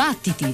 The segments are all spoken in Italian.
Battiti!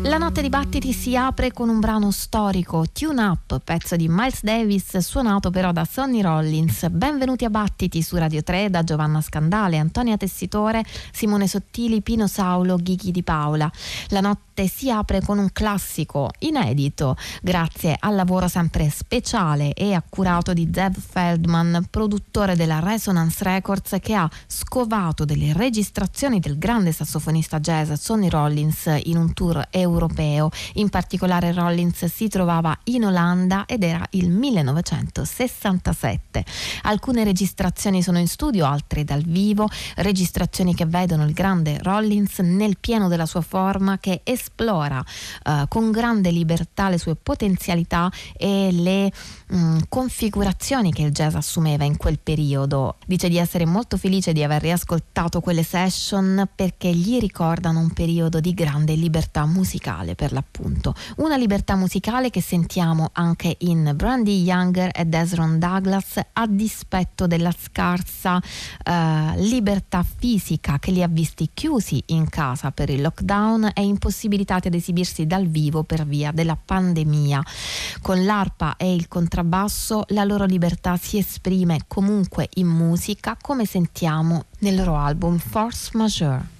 La notte di battiti si apre con un brano storico, Tune Up, pezzo di Miles Davis, suonato però da Sonny Rollins. Benvenuti a Battiti su Radio 3 da Giovanna Scandale, Antonia Tessitore, Simone Sottili, Pino Saulo, Ghighi Di Paola. La notte si apre con un classico inedito, grazie al lavoro sempre speciale e accurato di Zev Feldman, produttore della Resonance Records, che ha scovato delle registrazioni del grande sassofonista jazz Sonny Rollins in un tour europeo. In particolare Rollins si trovava in Olanda ed era il 1967. Alcune registrazioni sono in studio, altre dal vivo, registrazioni che vedono il grande Rollins nel pieno della sua forma, che esplora con grande libertà le sue potenzialità e le configurazioni che il jazz assumeva in quel periodo. Dice di essere molto felice di aver riascoltato quelle session perché gli ricordano un periodo di grande libertà musicale, per l'appunto. Una libertà musicale che sentiamo anche in Brandee Younger e Desron Douglas, a dispetto della scarsa libertà fisica che li ha visti chiusi in casa per il lockdown e impossibilitati ad esibirsi dal vivo per via della pandemia. Con l'arpa e il contrabbasso la loro libertà si esprime comunque in musica, come sentiamo nel loro album Force Majeure.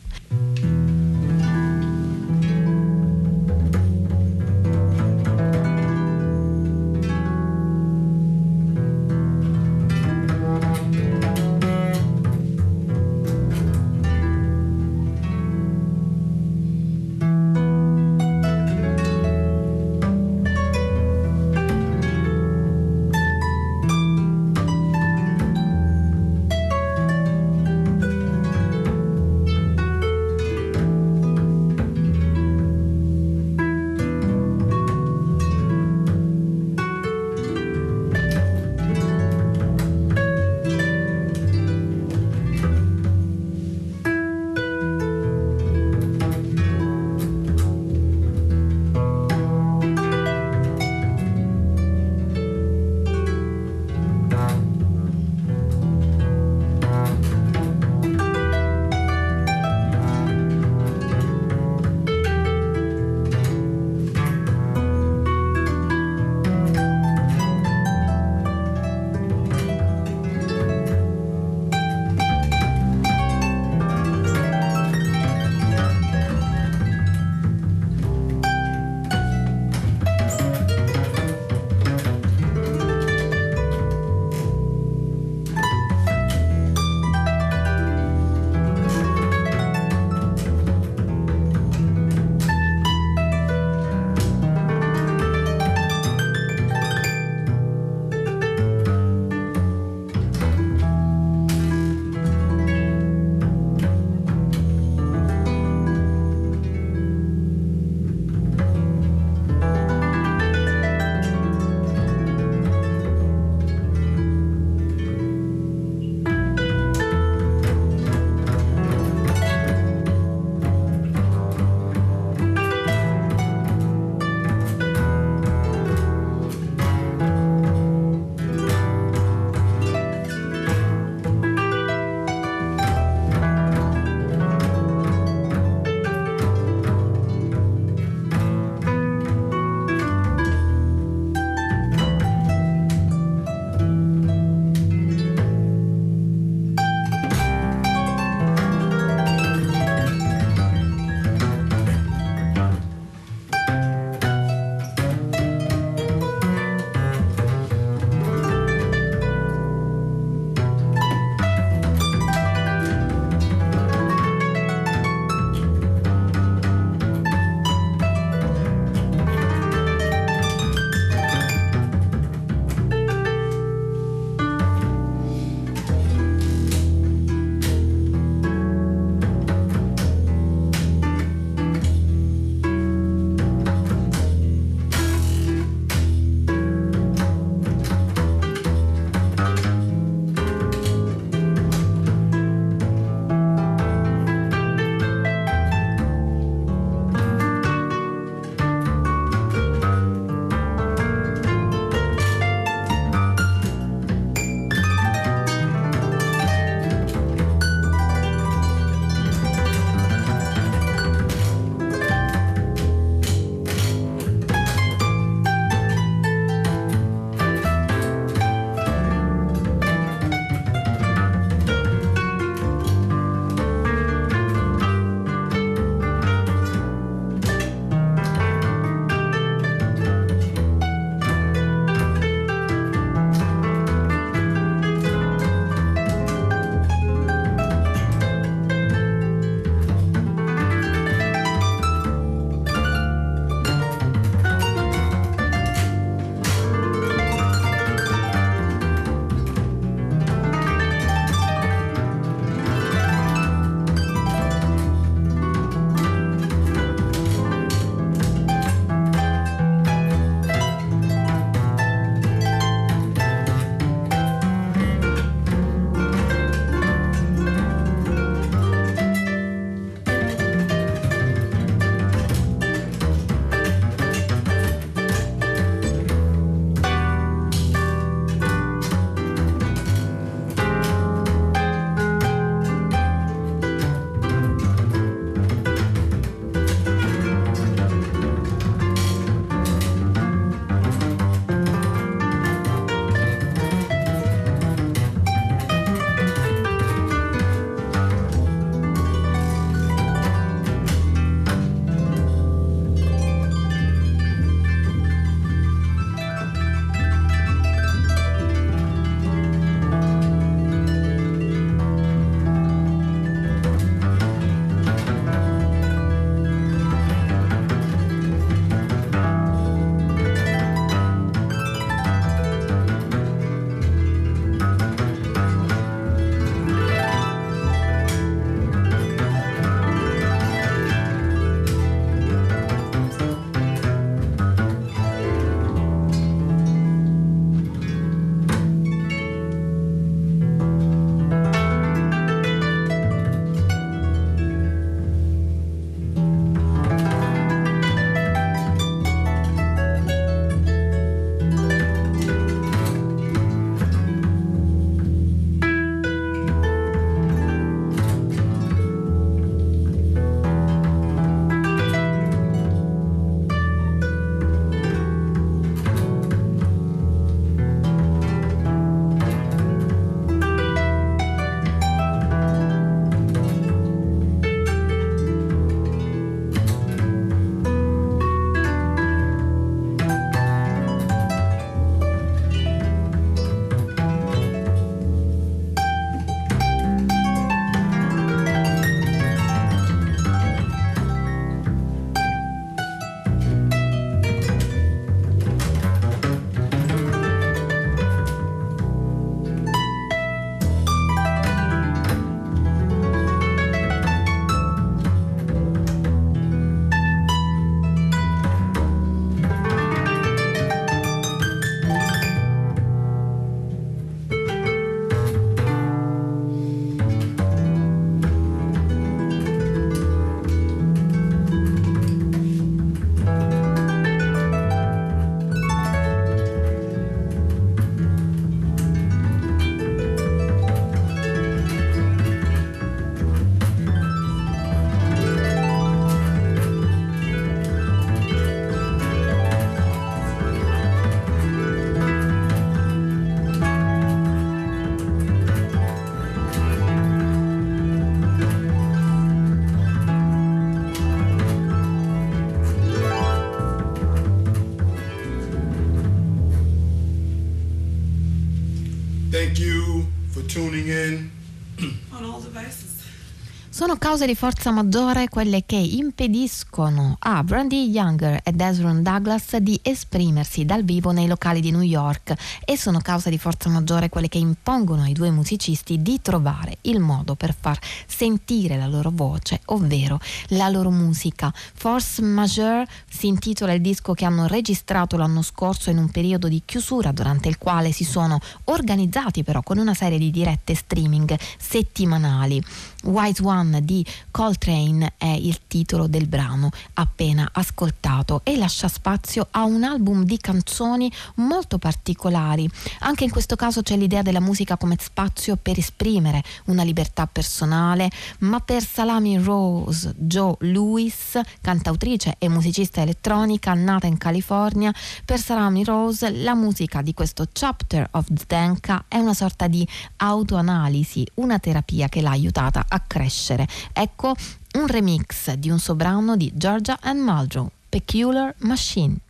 tuning in on all devices. Sono cause di forza maggiore quelle che impediscono a Brandee Younger e Desron Douglas di esprimersi dal vivo nei locali di New York, e sono cause di forza maggiore quelle che impongono ai due musicisti di trovare il modo per far sentire la loro voce, ovvero la loro musica. Force Majeure si intitola il disco che hanno registrato l'anno scorso in un periodo di chiusura durante il quale si sono organizzati però con una serie di dirette streaming settimanali. Wise One di Coltrane è il titolo del brano appena ascoltato e lascia spazio a un album di canzoni molto particolari. Anche in questo caso c'è l'idea della musica come spazio per esprimere una libertà personale, ma per Salami Rose Joe Louis, cantautrice e musicista elettronica nata in California, per Salami Rose la musica di questo Chapter of Zdenka è una sorta di autoanalisi, una terapia che l'ha aiutata a crescere. Ecco un remix di un suo brano di Georgia Ann Muldrow, Peculiar Machine.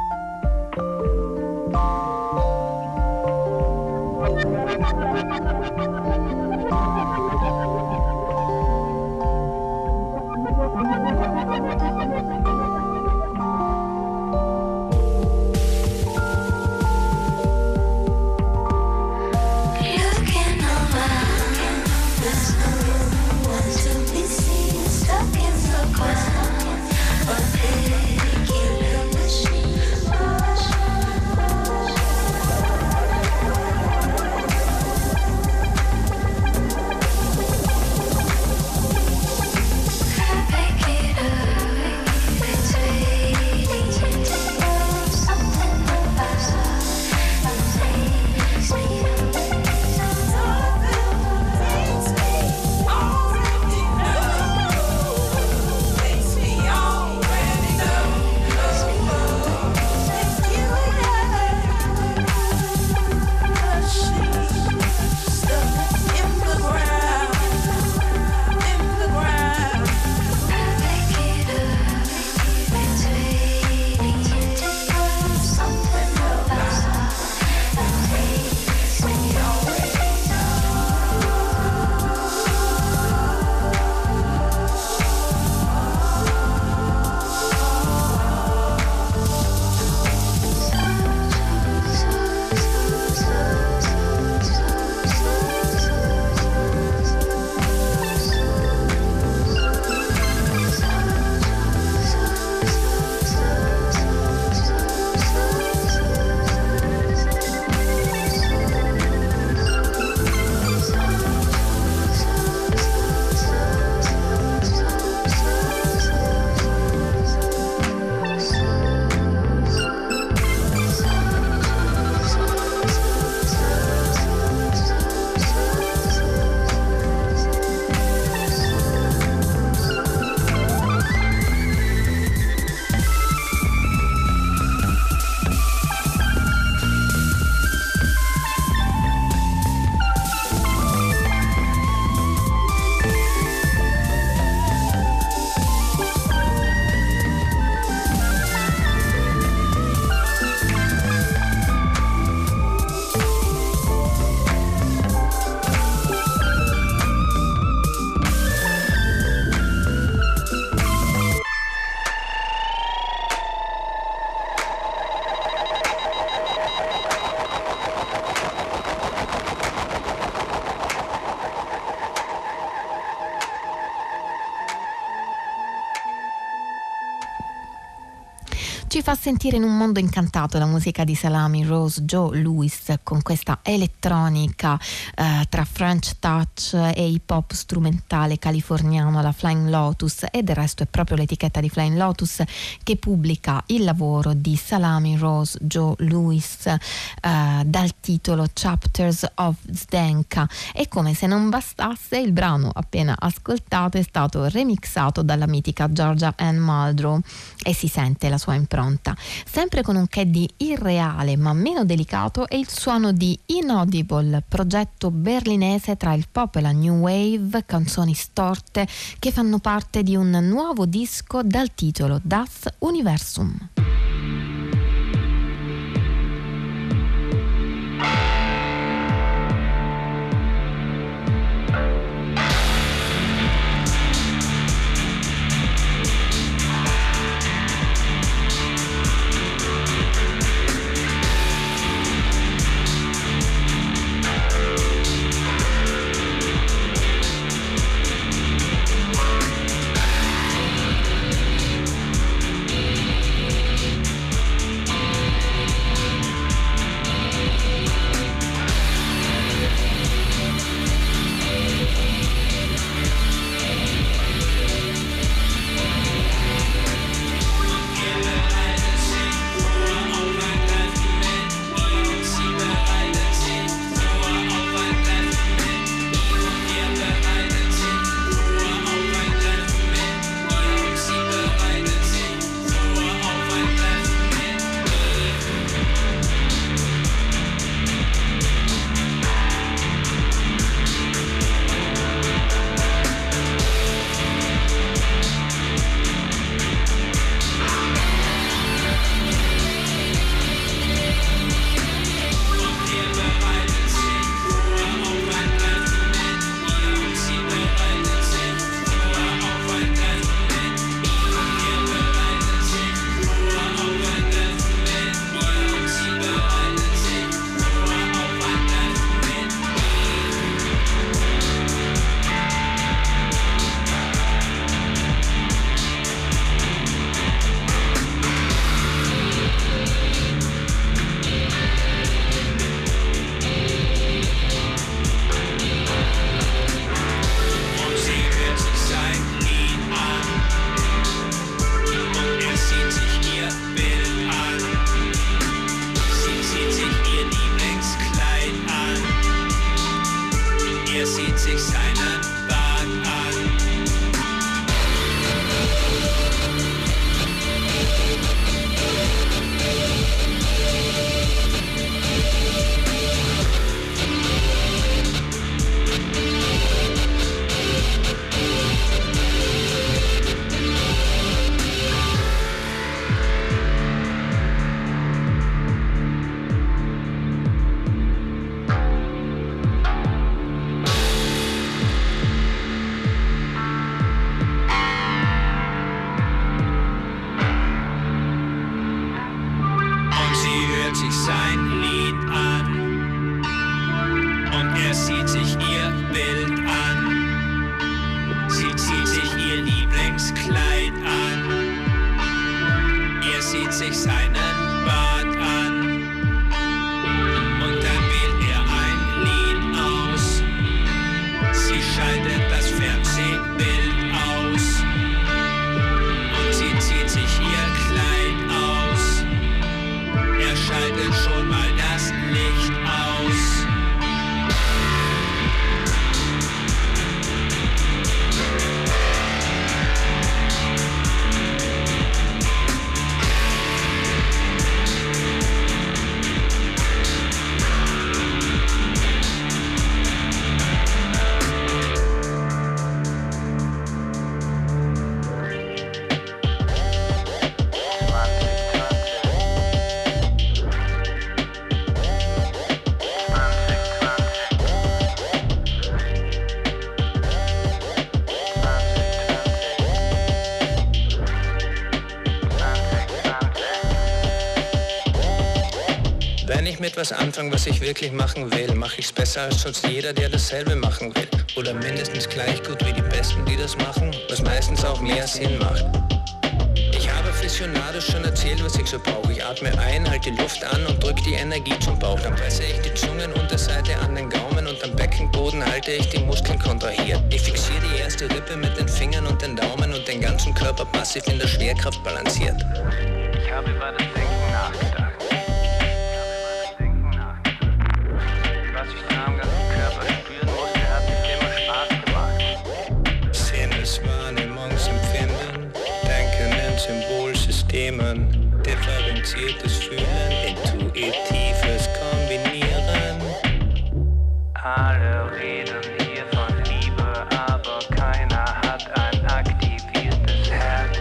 Ci fa sentire in un mondo incantato la musica di Salami Rose Joe Louis, con questa elettronica tra French touch e hip hop strumentale californiano, la Flying Lotus, e del resto è proprio l'etichetta di Flying Lotus che pubblica il lavoro di Salami Rose Joe Louis dal titolo Chapters of Zdenka. E come se non bastasse, il brano appena ascoltato è stato remixato dalla mitica Georgia Ann Muldrow e si sente la sua impronta. Sempre con un che di irreale ma meno delicato è il suono di Inaudible, progetto berlinese tra il pop e la new wave, canzoni storte che fanno parte di un nuovo disco dal titolo Das Universum. Er sieht sich seinen Bart an. Etwas anfangen, was ich wirklich machen will, mache ich's besser als sonst jeder, der dasselbe machen will. Oder mindestens gleich gut wie die Besten, die das machen, was meistens auch mehr Sinn macht. Ich habe visionarisch schon erzählt, was ich so brauche. Ich atme ein, halte die Luft an und drück die Energie zum Bauch. Dann presse ich die Zungenunterseite an den Gaumen und am Beckenboden halte ich die Muskeln kontrahiert. Ich fixiere die erste Rippe mit den Fingern und den Daumen und den ganzen Körper passiv in der Schwerkraft balanciert. Ich habe über das Denken nachgedacht. Differenziertes Fühlen, intuitives Kombinieren. Alle reden hier von Liebe, aber keiner hat ein aktiviertes Herz.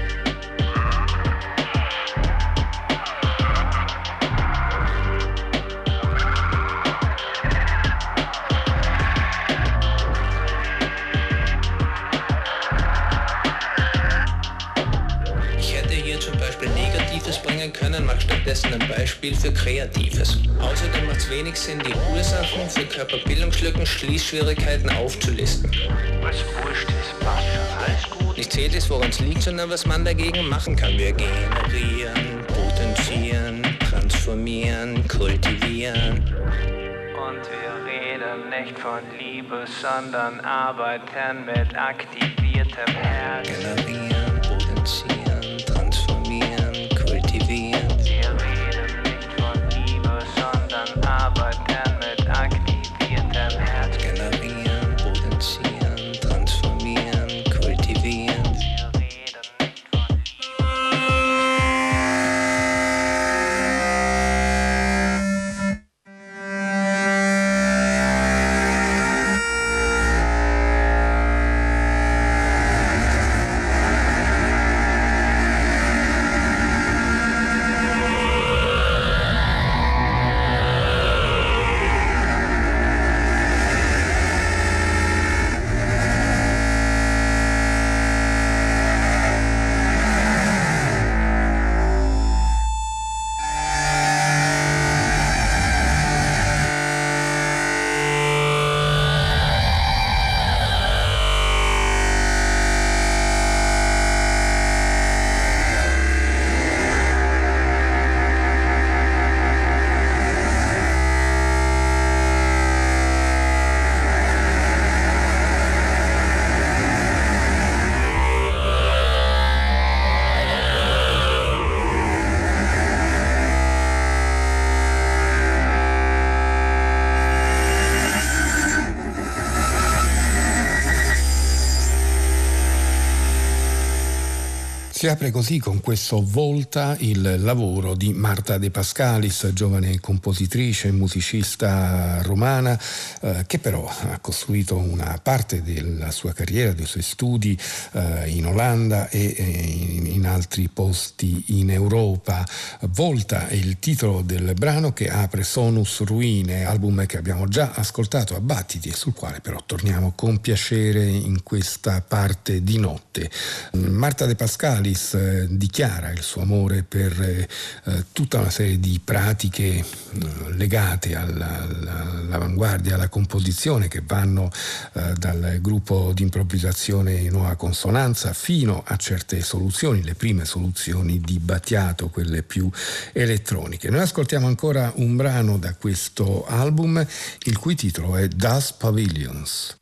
Ich hätte hier zum Beispiel Negatives bringen können, mach stattdessen ein Beispiel für Kreatives. Außerdem macht es wenig Sinn, die Ursachen für Körperbildungslücken, Schließschwierigkeiten aufzulisten. Was wurscht ist, passt schon, alles gut. Nicht zählt es, woran es liegt, sondern was man dagegen machen kann. Wir generieren, potenzieren, transformieren, kultivieren. Und wir reden nicht von Liebe, sondern arbeiten mit aktiviertem Herz. Generieren, potenzieren, transformieren, kultivieren. Wir reden nicht von Liebe, sondern arbeiten mit aktiviertem Herz. Generieren, potenzieren, transformieren, kultivieren. Wir reden nicht von Si apre così con questo Volta il lavoro di Marta De Pascalis, giovane compositrice e musicista romana, che però ha costruito una parte della sua carriera, dei suoi studi in Olanda e in altri posti in Europa. Volta è il titolo del brano che apre Sonus Ruine, album che abbiamo già ascoltato a battiti e sul quale però torniamo con piacere in questa parte di notte. Marta De Pascalis dichiara il suo amore per tutta una serie di pratiche legate all'avanguardia, alla composizione, che vanno dal gruppo di improvvisazione Nuova Consonanza fino a certe soluzioni, le prime soluzioni di Battiato, quelle più elettroniche. Noi ascoltiamo ancora un brano da questo album, il cui titolo è Das Pavilions.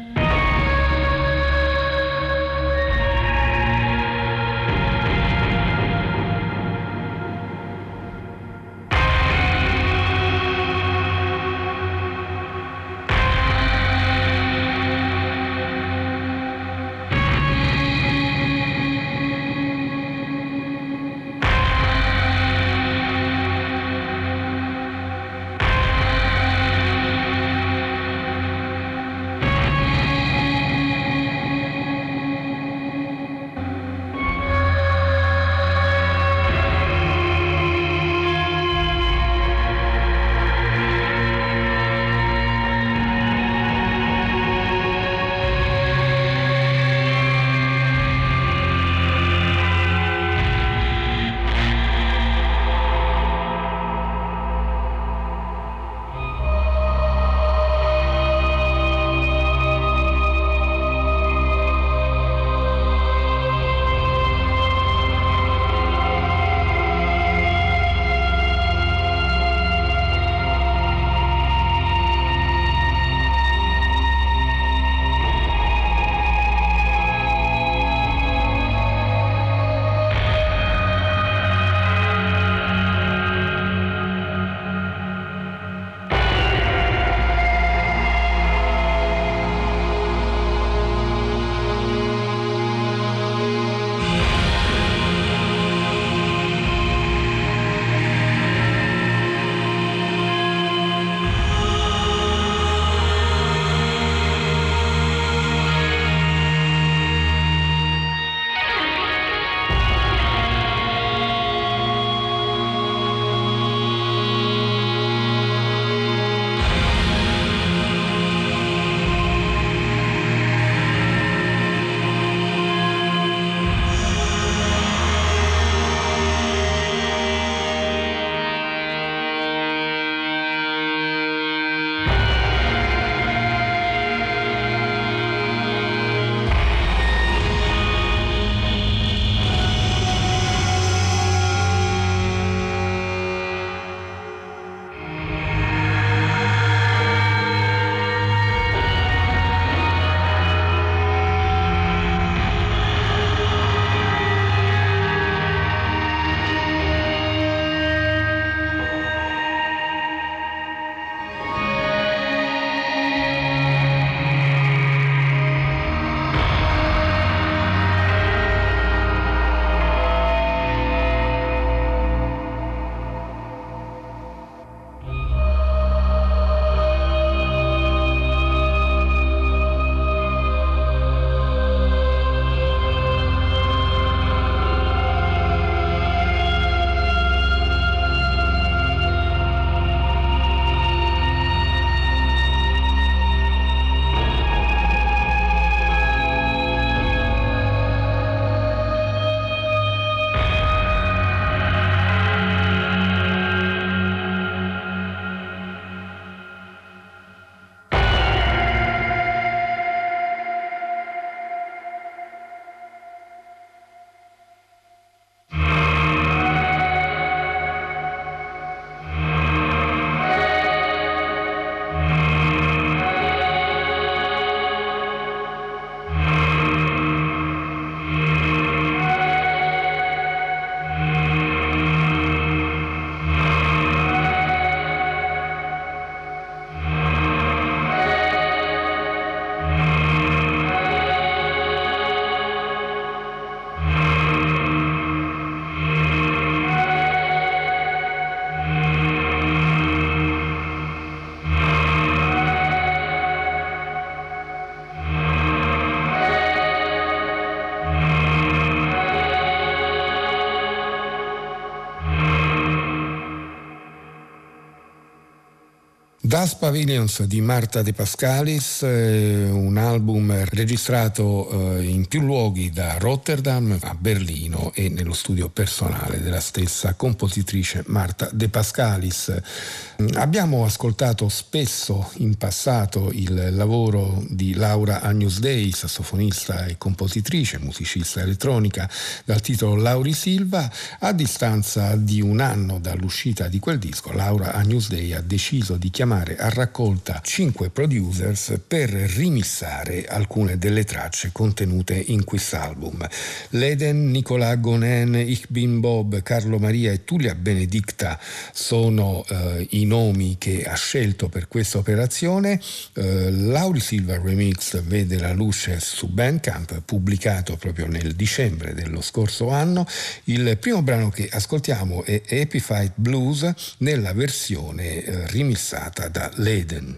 Das Pavilions di Marta De Pascalis, un album registrato in più luoghi, da Rotterdam a Berlino e nello studio personale della stessa compositrice Marta De Pascalis. Abbiamo ascoltato spesso in passato il lavoro di Laura Agnus Dei, sassofonista e compositrice, musicista elettronica, dal titolo Lauri Silva. A distanza di un anno dall'uscita di quel disco, Laura Agnus Dei ha deciso di chiamare a raccolta 5 producers per rimissare alcune delle tracce contenute in quest'album. Leden, Nicolas Gonen, Ich bin Bob, Carlo Maria e Tulia Benedicta sono i nomi che ha scelto per questa operazione. Lauri Silva Remix vede la luce su Bandcamp, pubblicato proprio nel dicembre dello scorso anno. Il primo brano che ascoltiamo è Happy Fight Blues nella versione remissata da Leden.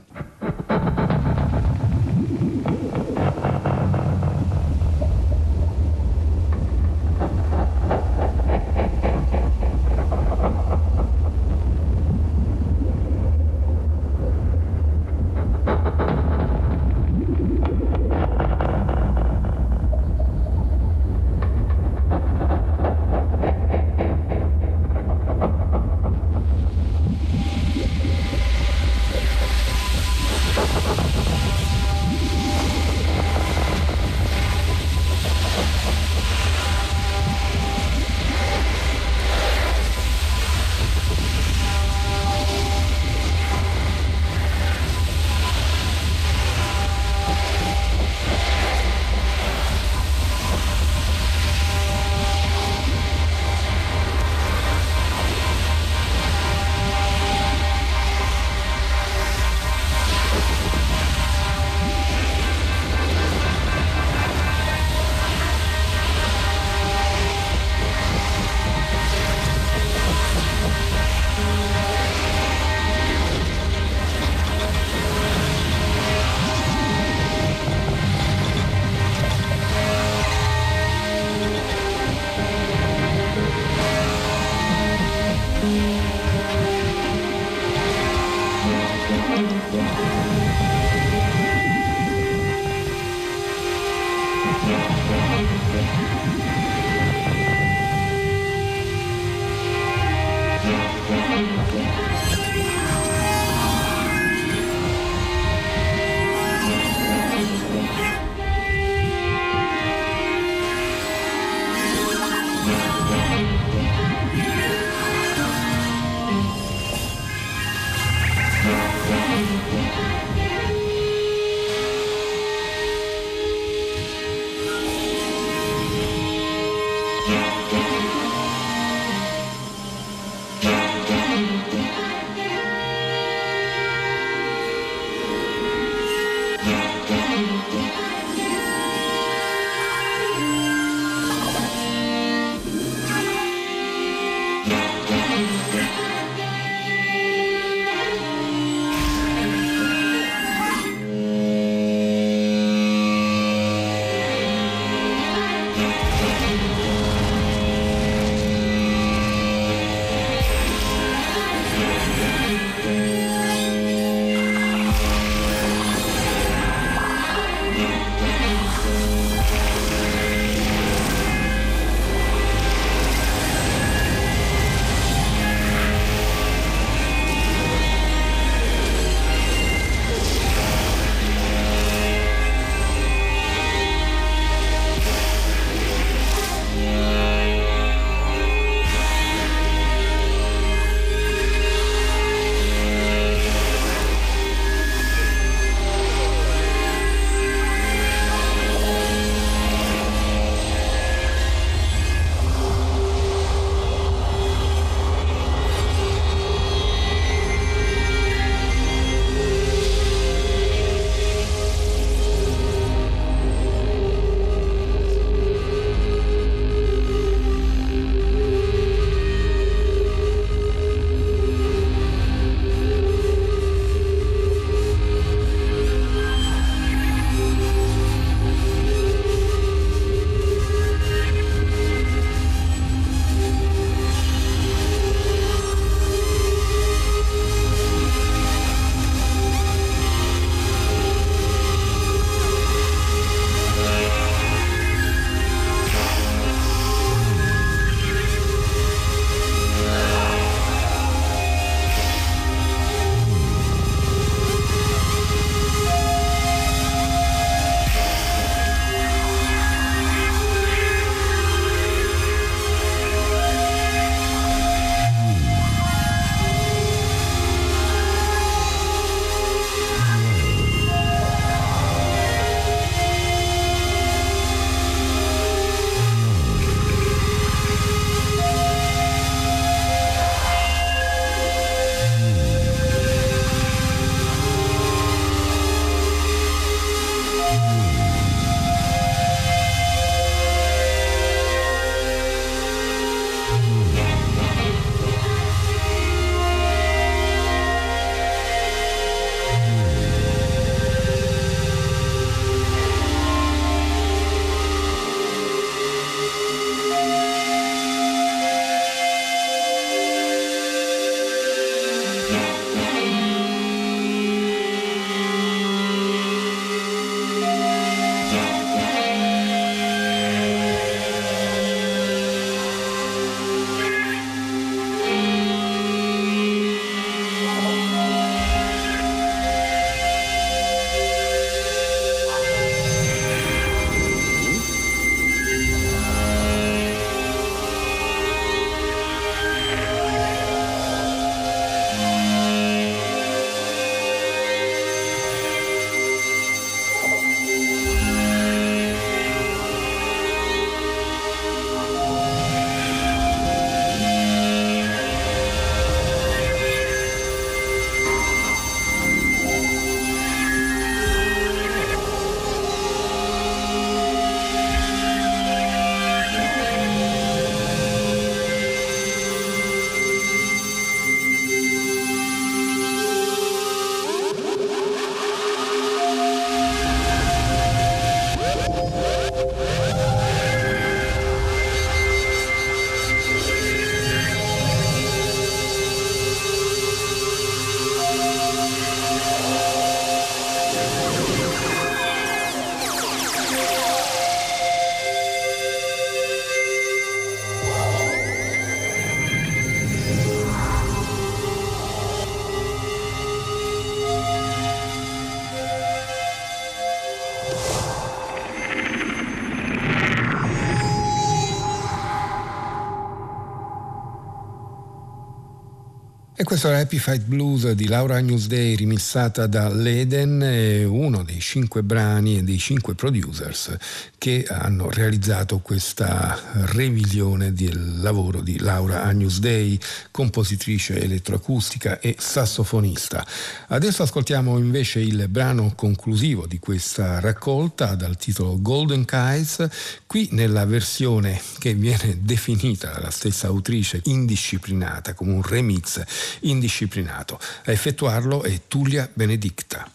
E questo era Happy Fight Blues di Laura Agnus Dei, remixata da Leden, uno dei 5 brani e dei 5 producers che hanno realizzato questa revisione del lavoro di Laura Agnus Dei, compositrice elettroacustica e sassofonista. Adesso ascoltiamo invece il brano conclusivo di questa raccolta dal titolo Golden Kites, qui nella versione che viene definita dalla stessa autrice indisciplinata, come un remix indisciplinato. A effettuarlo è Tulia Benedicta.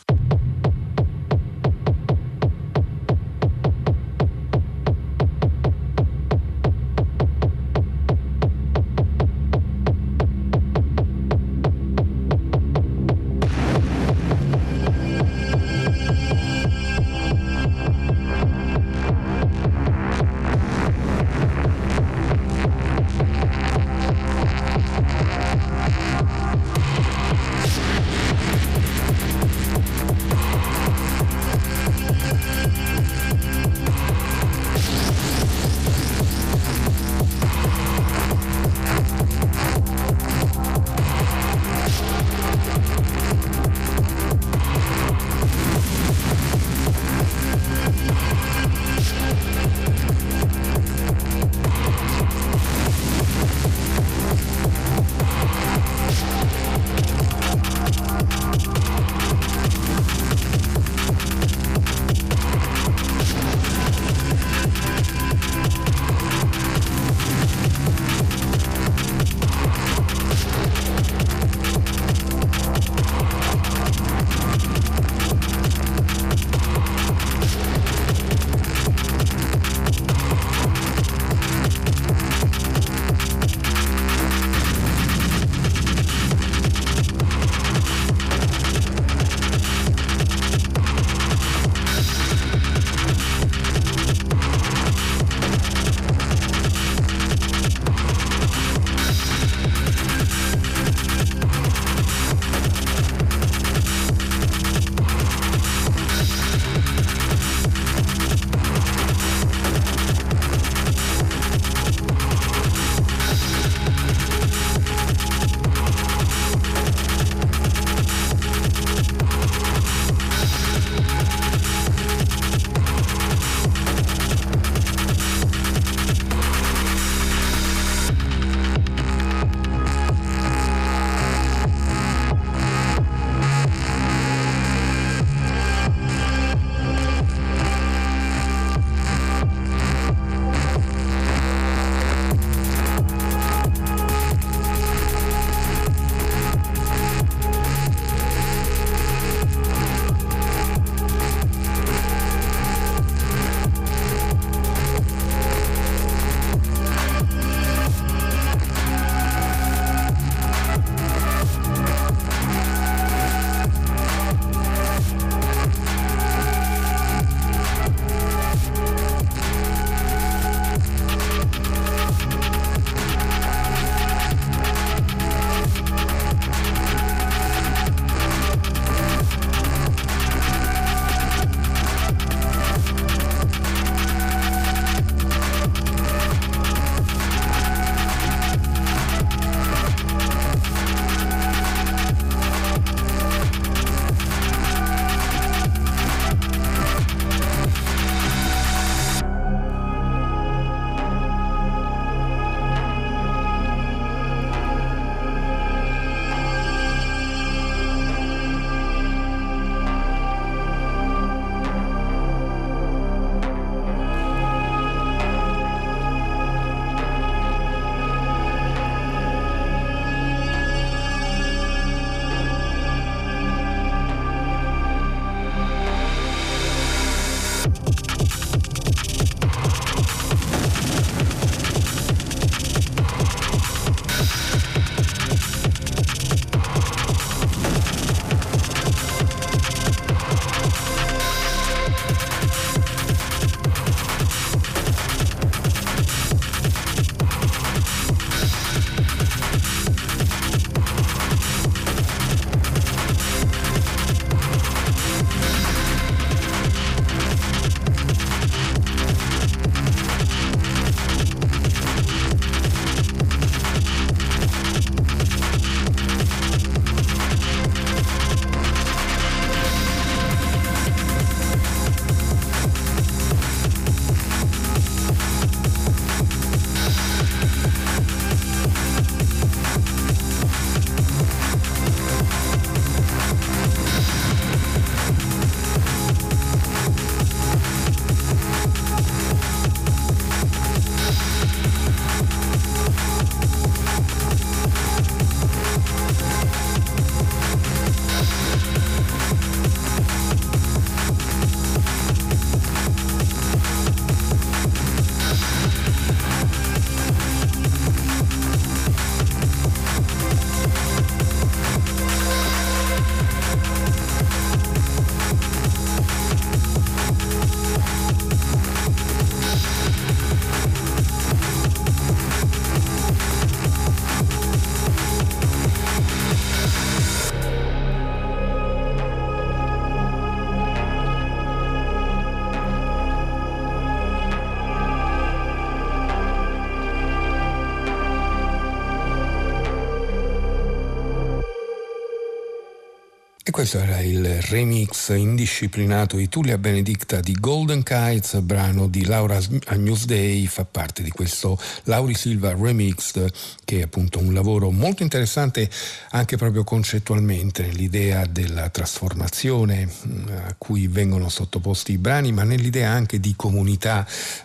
E questo era il remix indisciplinato di Tullia Benedicta di Golden Kites, brano di Laura Newsday, fa parte di questo Lauri Silva Remixed, che è appunto un lavoro molto interessante anche proprio concettualmente, nell'idea della trasformazione a cui vengono sottoposti i brani, ma nell'idea anche di comunità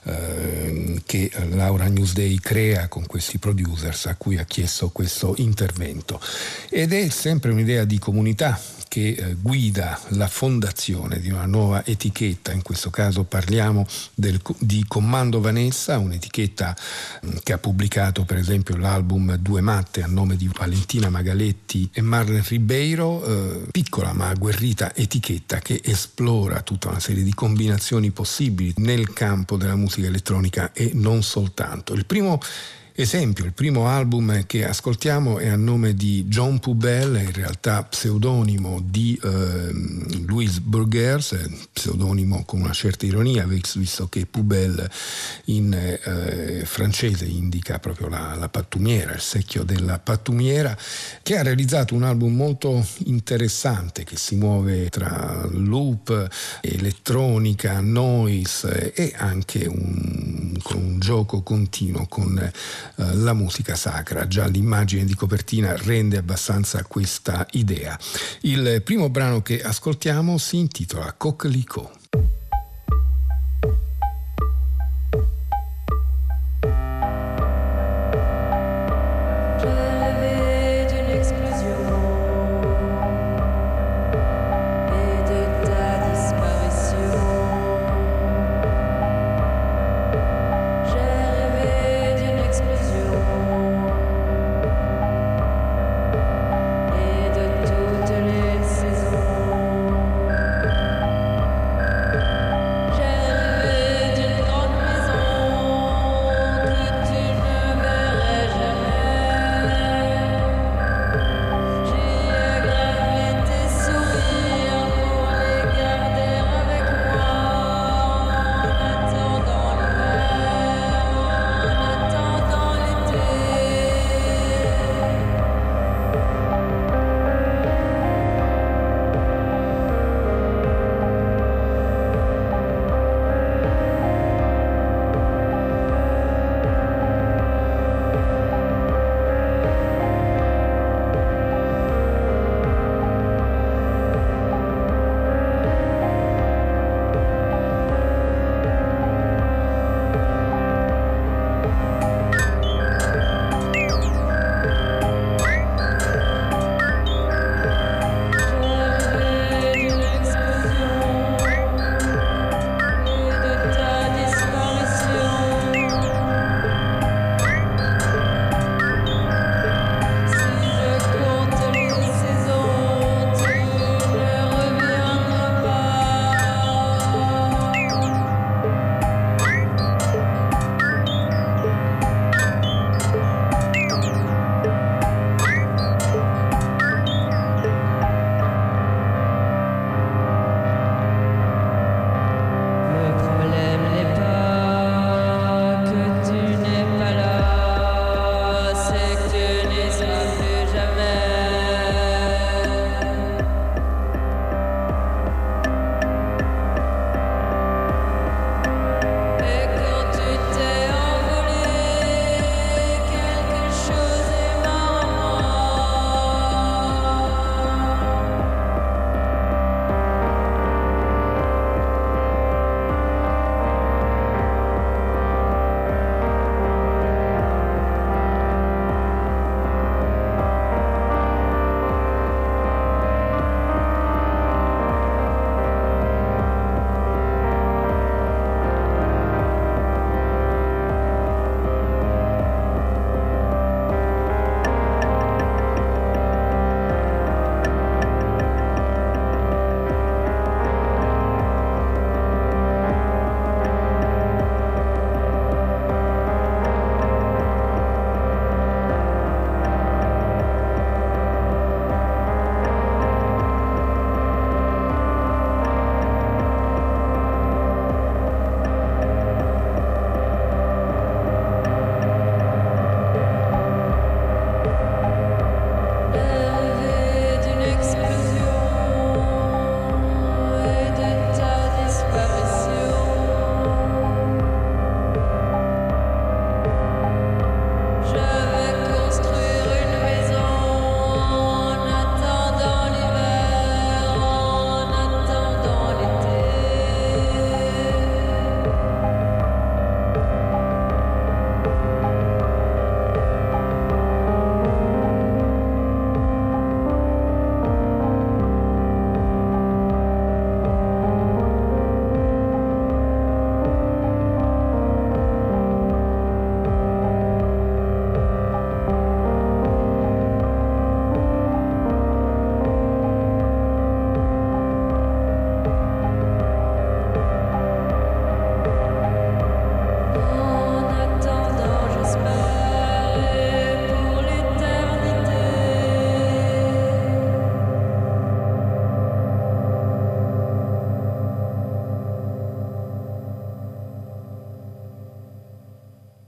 che Laura Newsday crea con questi producers a cui ha chiesto questo intervento. Ed è sempre un'idea di comunità che guida la fondazione di una nuova etichetta. In questo caso parliamo di Commando Vanessa, un'etichetta che ha pubblicato per esempio l'album Due Matte a nome di Valentina Magaletti e Marlen Ribeiro, piccola ma agguerrita etichetta che esplora tutta una serie di combinazioni possibili nel campo della musica elettronica e non soltanto. Il primo esempio, il primo album che ascoltiamo è a nome di John Pubel, in realtà pseudonimo di Louis Burgers, pseudonimo con una certa ironia, visto che Pubel in francese indica proprio la pattumiera, il secchio della pattumiera, che ha realizzato un album molto interessante che si muove tra loop, elettronica, noise e anche con un gioco continuo con la musica sacra. Già l'immagine di copertina rende abbastanza questa idea. Il primo brano che ascoltiamo si intitola Coquelicot. Et de toutes les saisons.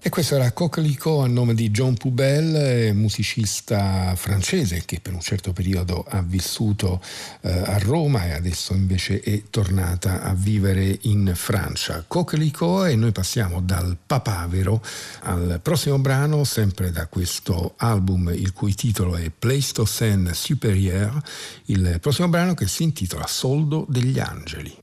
E questo era Coquelicot a nome di John Poubelle, musicista francese che per un certo periodo ha vissuto a Roma e adesso invece è tornata a vivere in Francia. Coquelicot, e noi passiamo dal papavero al prossimo brano, sempre da questo album il cui titolo è Pleistocène Supérieur, il prossimo brano che si intitola Soldo degli Angeli.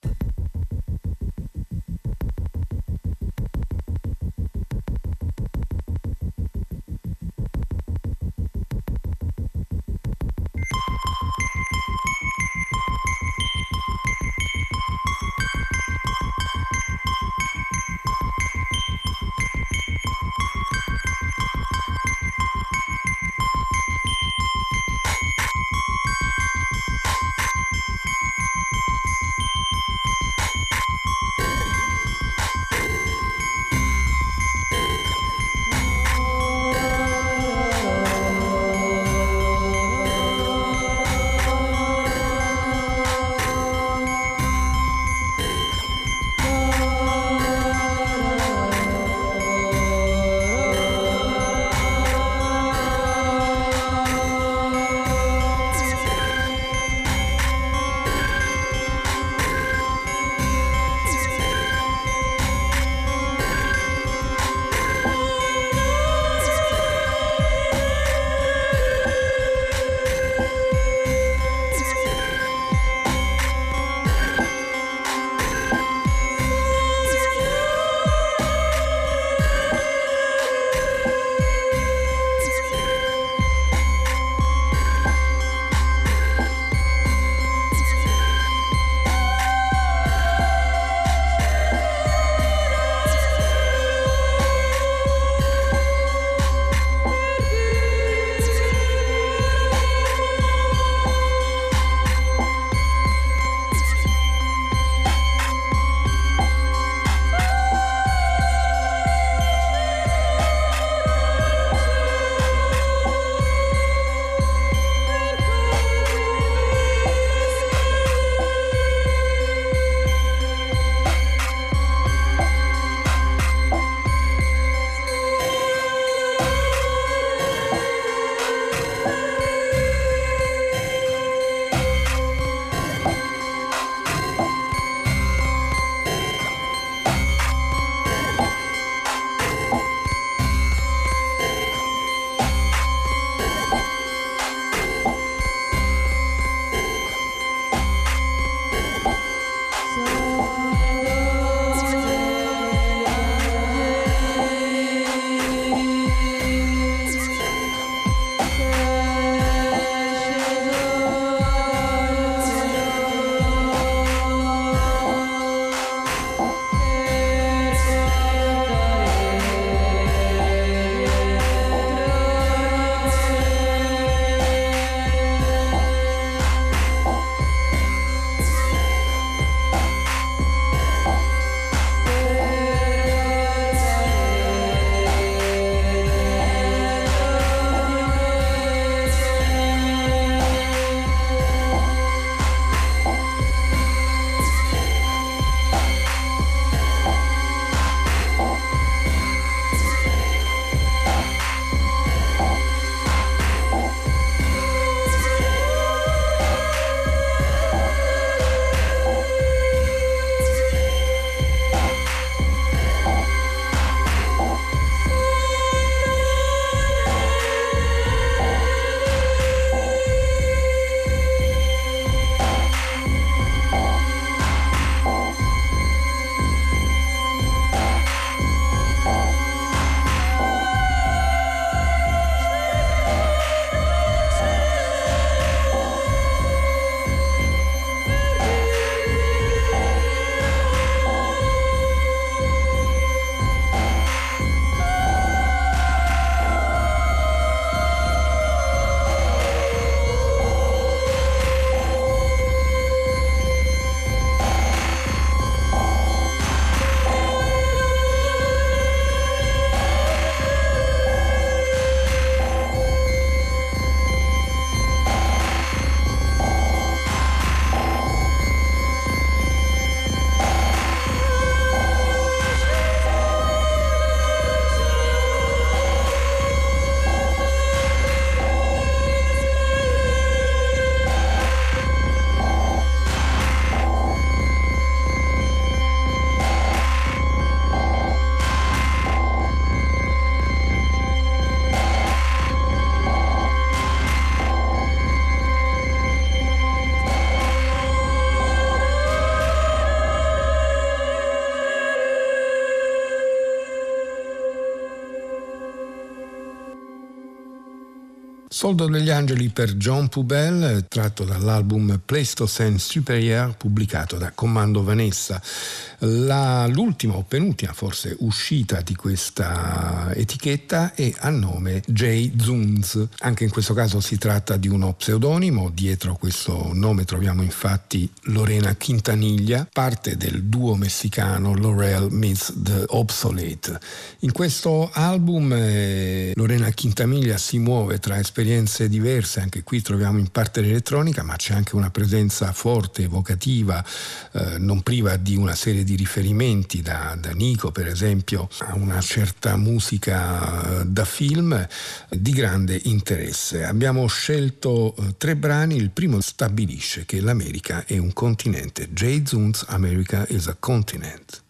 Soldo degli Angeli per John Poubelle, tratto dall'album Pleistocène Supérieur pubblicato da Commando Vanessa. L'ultima o penultima forse uscita di questa etichetta è a nome Jay Zunz. Anche in questo caso si tratta di uno pseudonimo, dietro questo nome troviamo infatti Lorena Quintanilla, parte del duo messicano Laurel Meets the Obsolete. In questo album Lorena Quintanilla si muove tra esperienze diverse, anche qui troviamo in parte l'elettronica, ma c'è anche una presenza forte, evocativa, non priva di una serie di riferimenti da Nico per esempio a una certa musica da film di grande interesse. Abbiamo scelto 3 brani, il primo stabilisce che l'America è un continente. Jay Zunz, America is a Continent.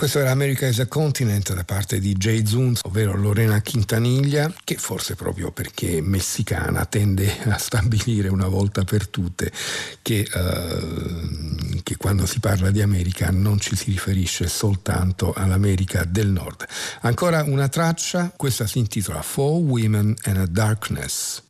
Questo era America is a Continent da parte di Jay Zuns, ovvero Lorena Quintanilla, che forse proprio perché è messicana tende a stabilire una volta per tutte che quando si parla di America non ci si riferisce soltanto all'America del Nord. Ancora una traccia, questa si intitola Four Women and a Darkness.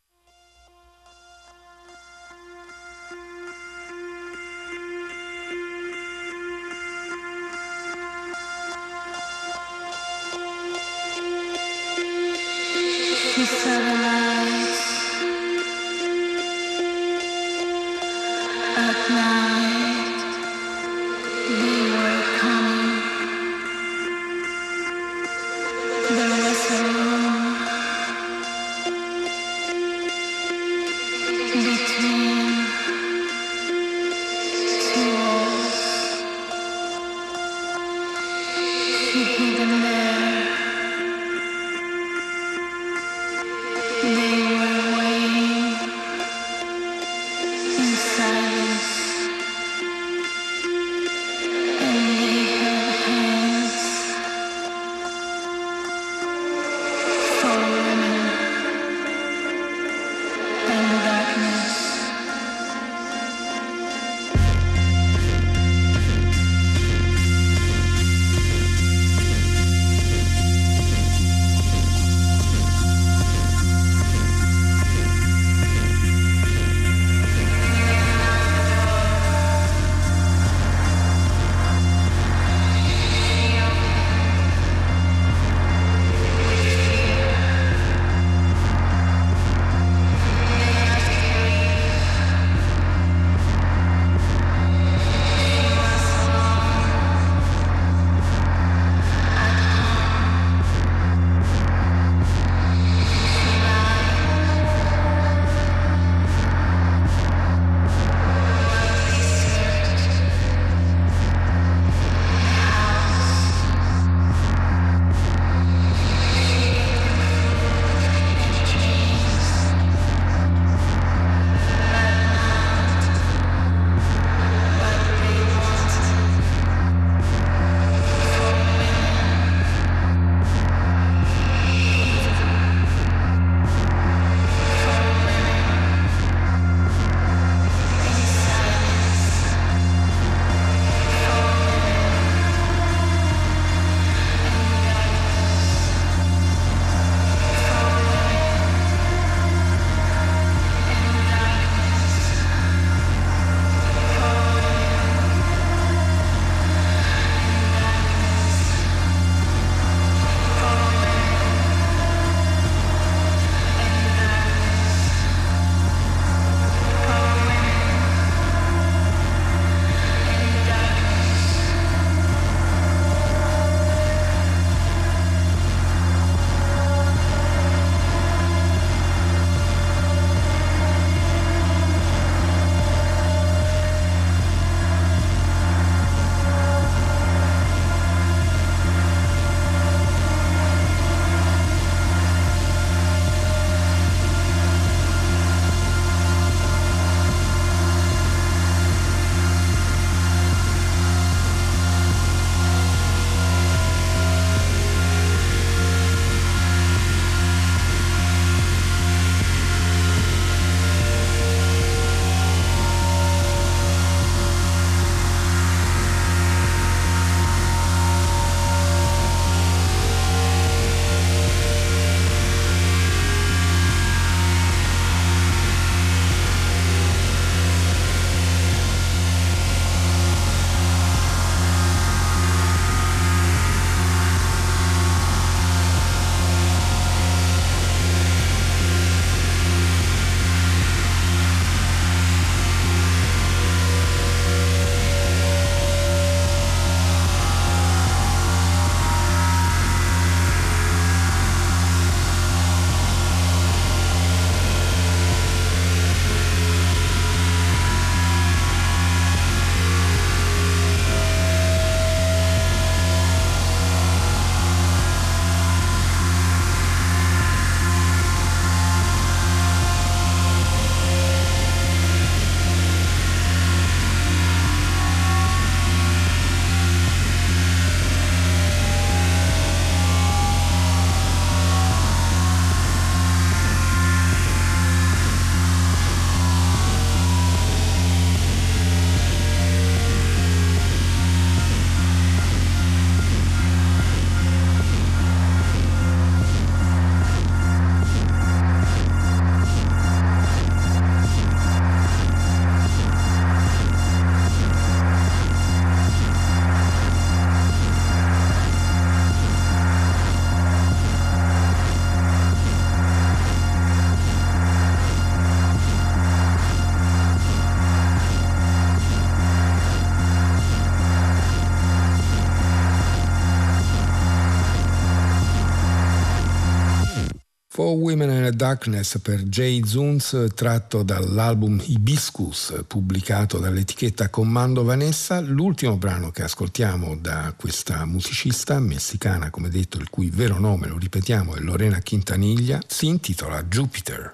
For Women in the Darkness per Jay Zuns, tratto dall'album Hibiscus pubblicato dall'etichetta Commando Vanessa. L'ultimo brano che ascoltiamo da questa musicista messicana, come detto, il cui vero nome, lo ripetiamo, è Lorena Quintanilla, si intitola Jupiter.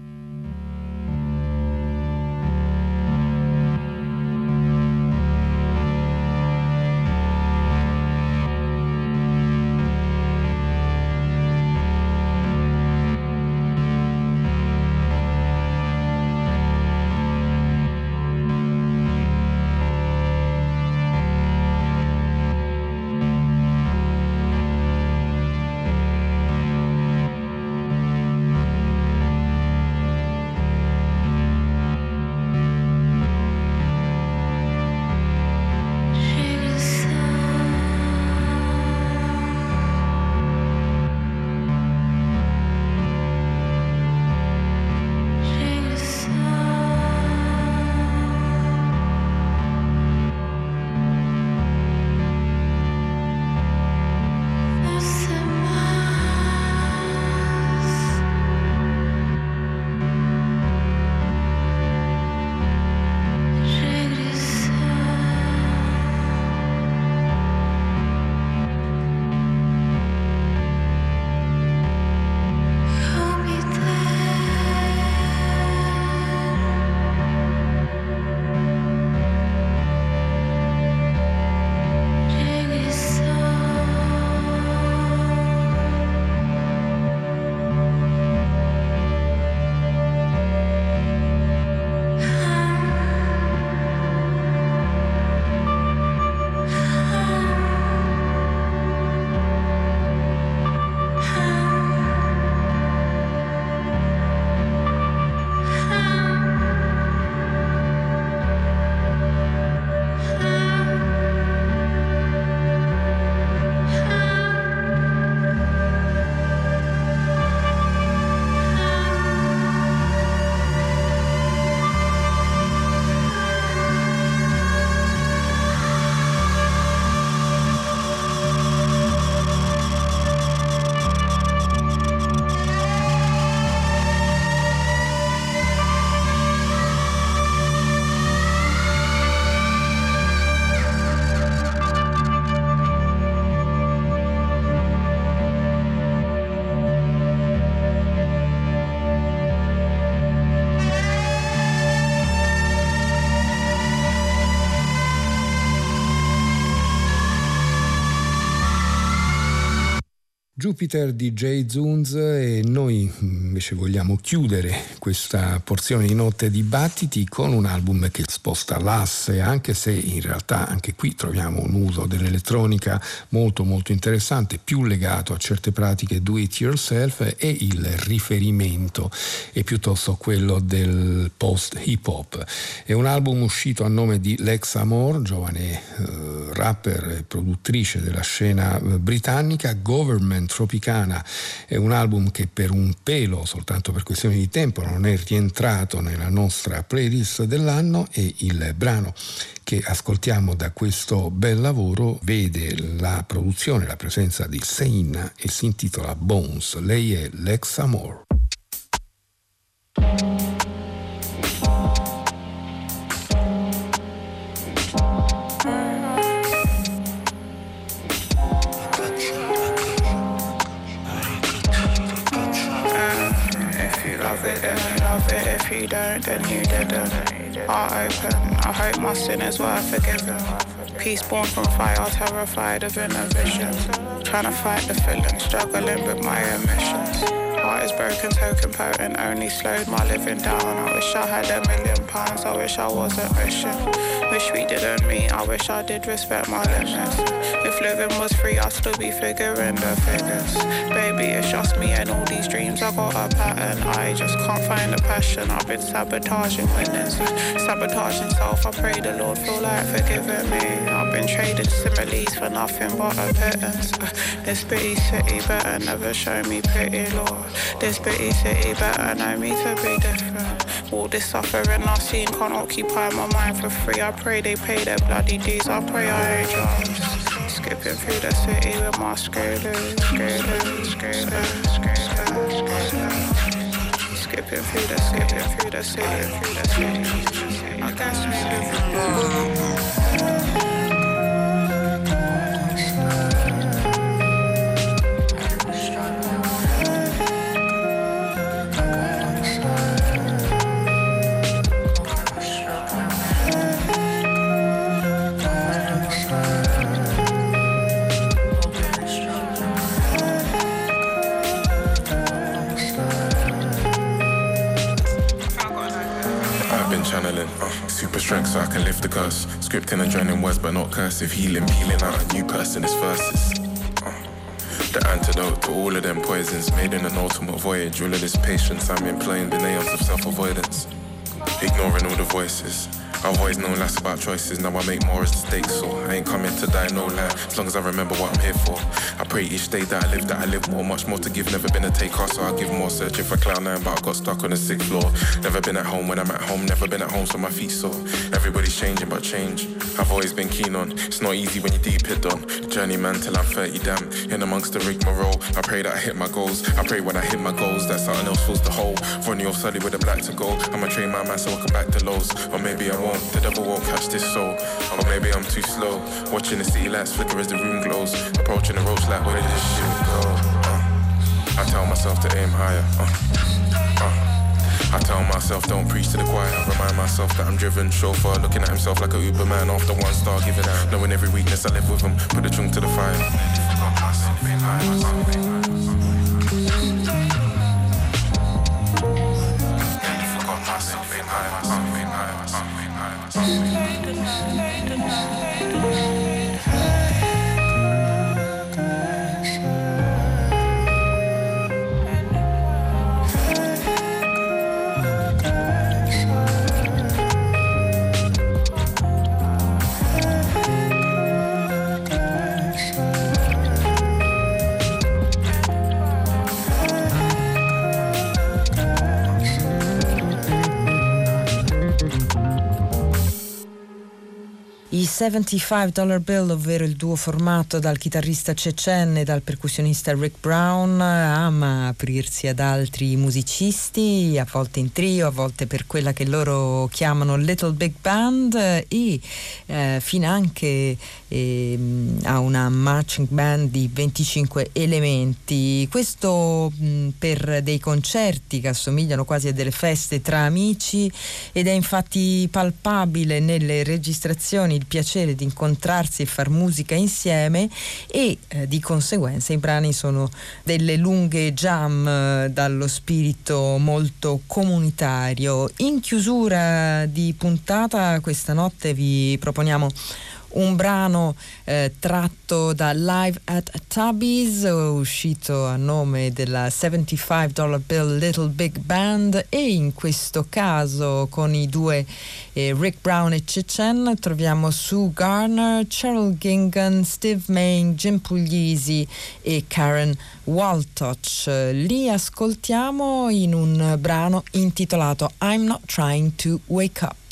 Jupiter di Jay Zuns, e noi invece vogliamo chiudere questa porzione di Notte Dibattiti con un album che sposta l'asse, anche se in realtà anche qui troviamo un uso dell'elettronica molto molto interessante, più legato a certe pratiche do it yourself, e il riferimento è piuttosto quello del post hip hop. È un album uscito a nome di Lex Amor, giovane rapper e produttrice della scena britannica. Government Tropicana è un album che per un pelo, soltanto per questioni di tempo, non è rientrato nella nostra playlist dell'anno, e il brano che ascoltiamo da questo bel lavoro vede la produzione, la presenza di Sein e si intitola Bones. Lei è Lex Amor. If you don't, then you didn't. Heart open, I hope my sin is worth forgiving. Peace born from fire, terrified of inner visions. Trying to fight the feeling, struggling with my omissions. Heart is broken, token potent, only slowed my living down. I wish I had £1 million, I wish I wasn't wishing. Wish we didn't meet, I wish I did respect my limits. If living was free, I'd still be figuring the figures. Baby, it's just me and all these dreams, I got a pattern. I just can't find the passion, I've been sabotaging winners. Sabotaging self, I pray the Lord feel like forgiving me. I've been trading similes for nothing but a pittance. This bitty city better never show me pity, Lord. This bitty city better know me to be different. All this suffering I've seen can't occupy my mind for free. I pray they pay their bloody dues, I pray I ain't drums. Skipping through the city with my screw loose. Skipping through the city. I guess maybe channeling, super strength so I can lift the curse. Scripting and drowning words but not cursive. Healing, peeling out a new person, it's verses. The antidote to all of them poisons. Made in an ultimate voyage. All of this patience I'm employing the nails of self-avoidance. Ignoring all the voices. I've always known less about choices. Now I make more as the stakes soar. I ain't coming to die, no lie. As long as I remember what I'm here for. I pray each day that I live more. Much more to give, never been a taker, so I'll give more. Searching for cloud nine, but I got stuck on the 6th floor. Never been at home when I'm at home. Never been at home, so my feet sore. Everybody's changing, but change I've always been keen on. It's not easy when you're deep hit on. Journeyman till I'm 30, damn. In amongst the rigmarole, I pray that I hit my goals. I pray when I hit my goals that something else fills the hole. Ronnie off Sully with a black to go. I'ma train my man so I come back to lows. Or maybe I won't, the devil won't catch this soul. Or maybe I'm too slow. Watching the city lights flicker as the room glows. Approaching the ropes like where did this shit go? I tell myself to aim higher. I tell myself don't preach to the choir. Remind myself that I'm driven. Chauffeur looking at himself like a Uberman after 1 star giving out. Knowing every weakness I live with him. Put the trunk to the fire. I $75 Bill, ovvero il duo formato dal chitarrista Chechen e dal percussionista Rick Brown, ama aprirsi ad altri musicisti, a volte in trio, a volte per quella che loro chiamano Little Big Band e finanche a una marching band di 25 elementi. Questo per dei concerti che assomigliano quasi a delle feste tra amici, ed è infatti palpabile nelle registrazioni il piacere di incontrarsi e far musica insieme, e di conseguenza i brani sono delle lunghe jam dallo spirito molto comunitario. In chiusura di puntata questa notte vi proponiamo un brano tratto da Live at Tubby's, uscito a nome della $75 Bill Little Big Band, e in questo caso con i due Rick Brown e Chechen troviamo Sue Garner, Cheryl Gingan, Steve Main, Jim Puglisi e Karen Waltouch. Li ascoltiamo in un brano intitolato I'm Not Trying to Wake Up.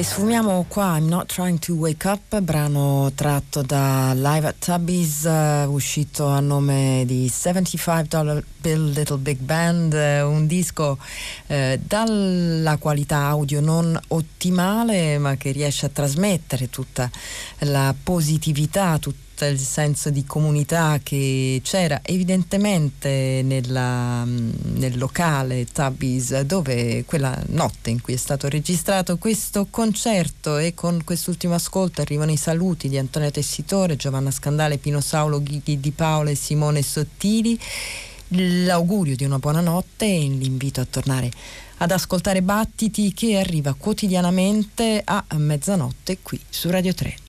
E sfumiamo qua I'm Not Trying to Wake Up, brano tratto da Live at Tubby's, uscito a nome di $75 Bill Little Big Band, un disco dalla qualità audio non ottimale, ma che riesce a trasmettere tutta la positività, tutto il senso di comunità che c'era evidentemente nel locale Tubby's, dove quella notte in cui è stato registrato questo concerto. E con quest'ultimo ascolto arrivano i saluti di Antonio Tessitore, Giovanna Scandale, Pino Saulo, Ghighi Di Paola e Simone Sottili, l'augurio di una buona notte e l'invito a tornare ad ascoltare Battiti, che arriva quotidianamente a mezzanotte qui su Radio 3.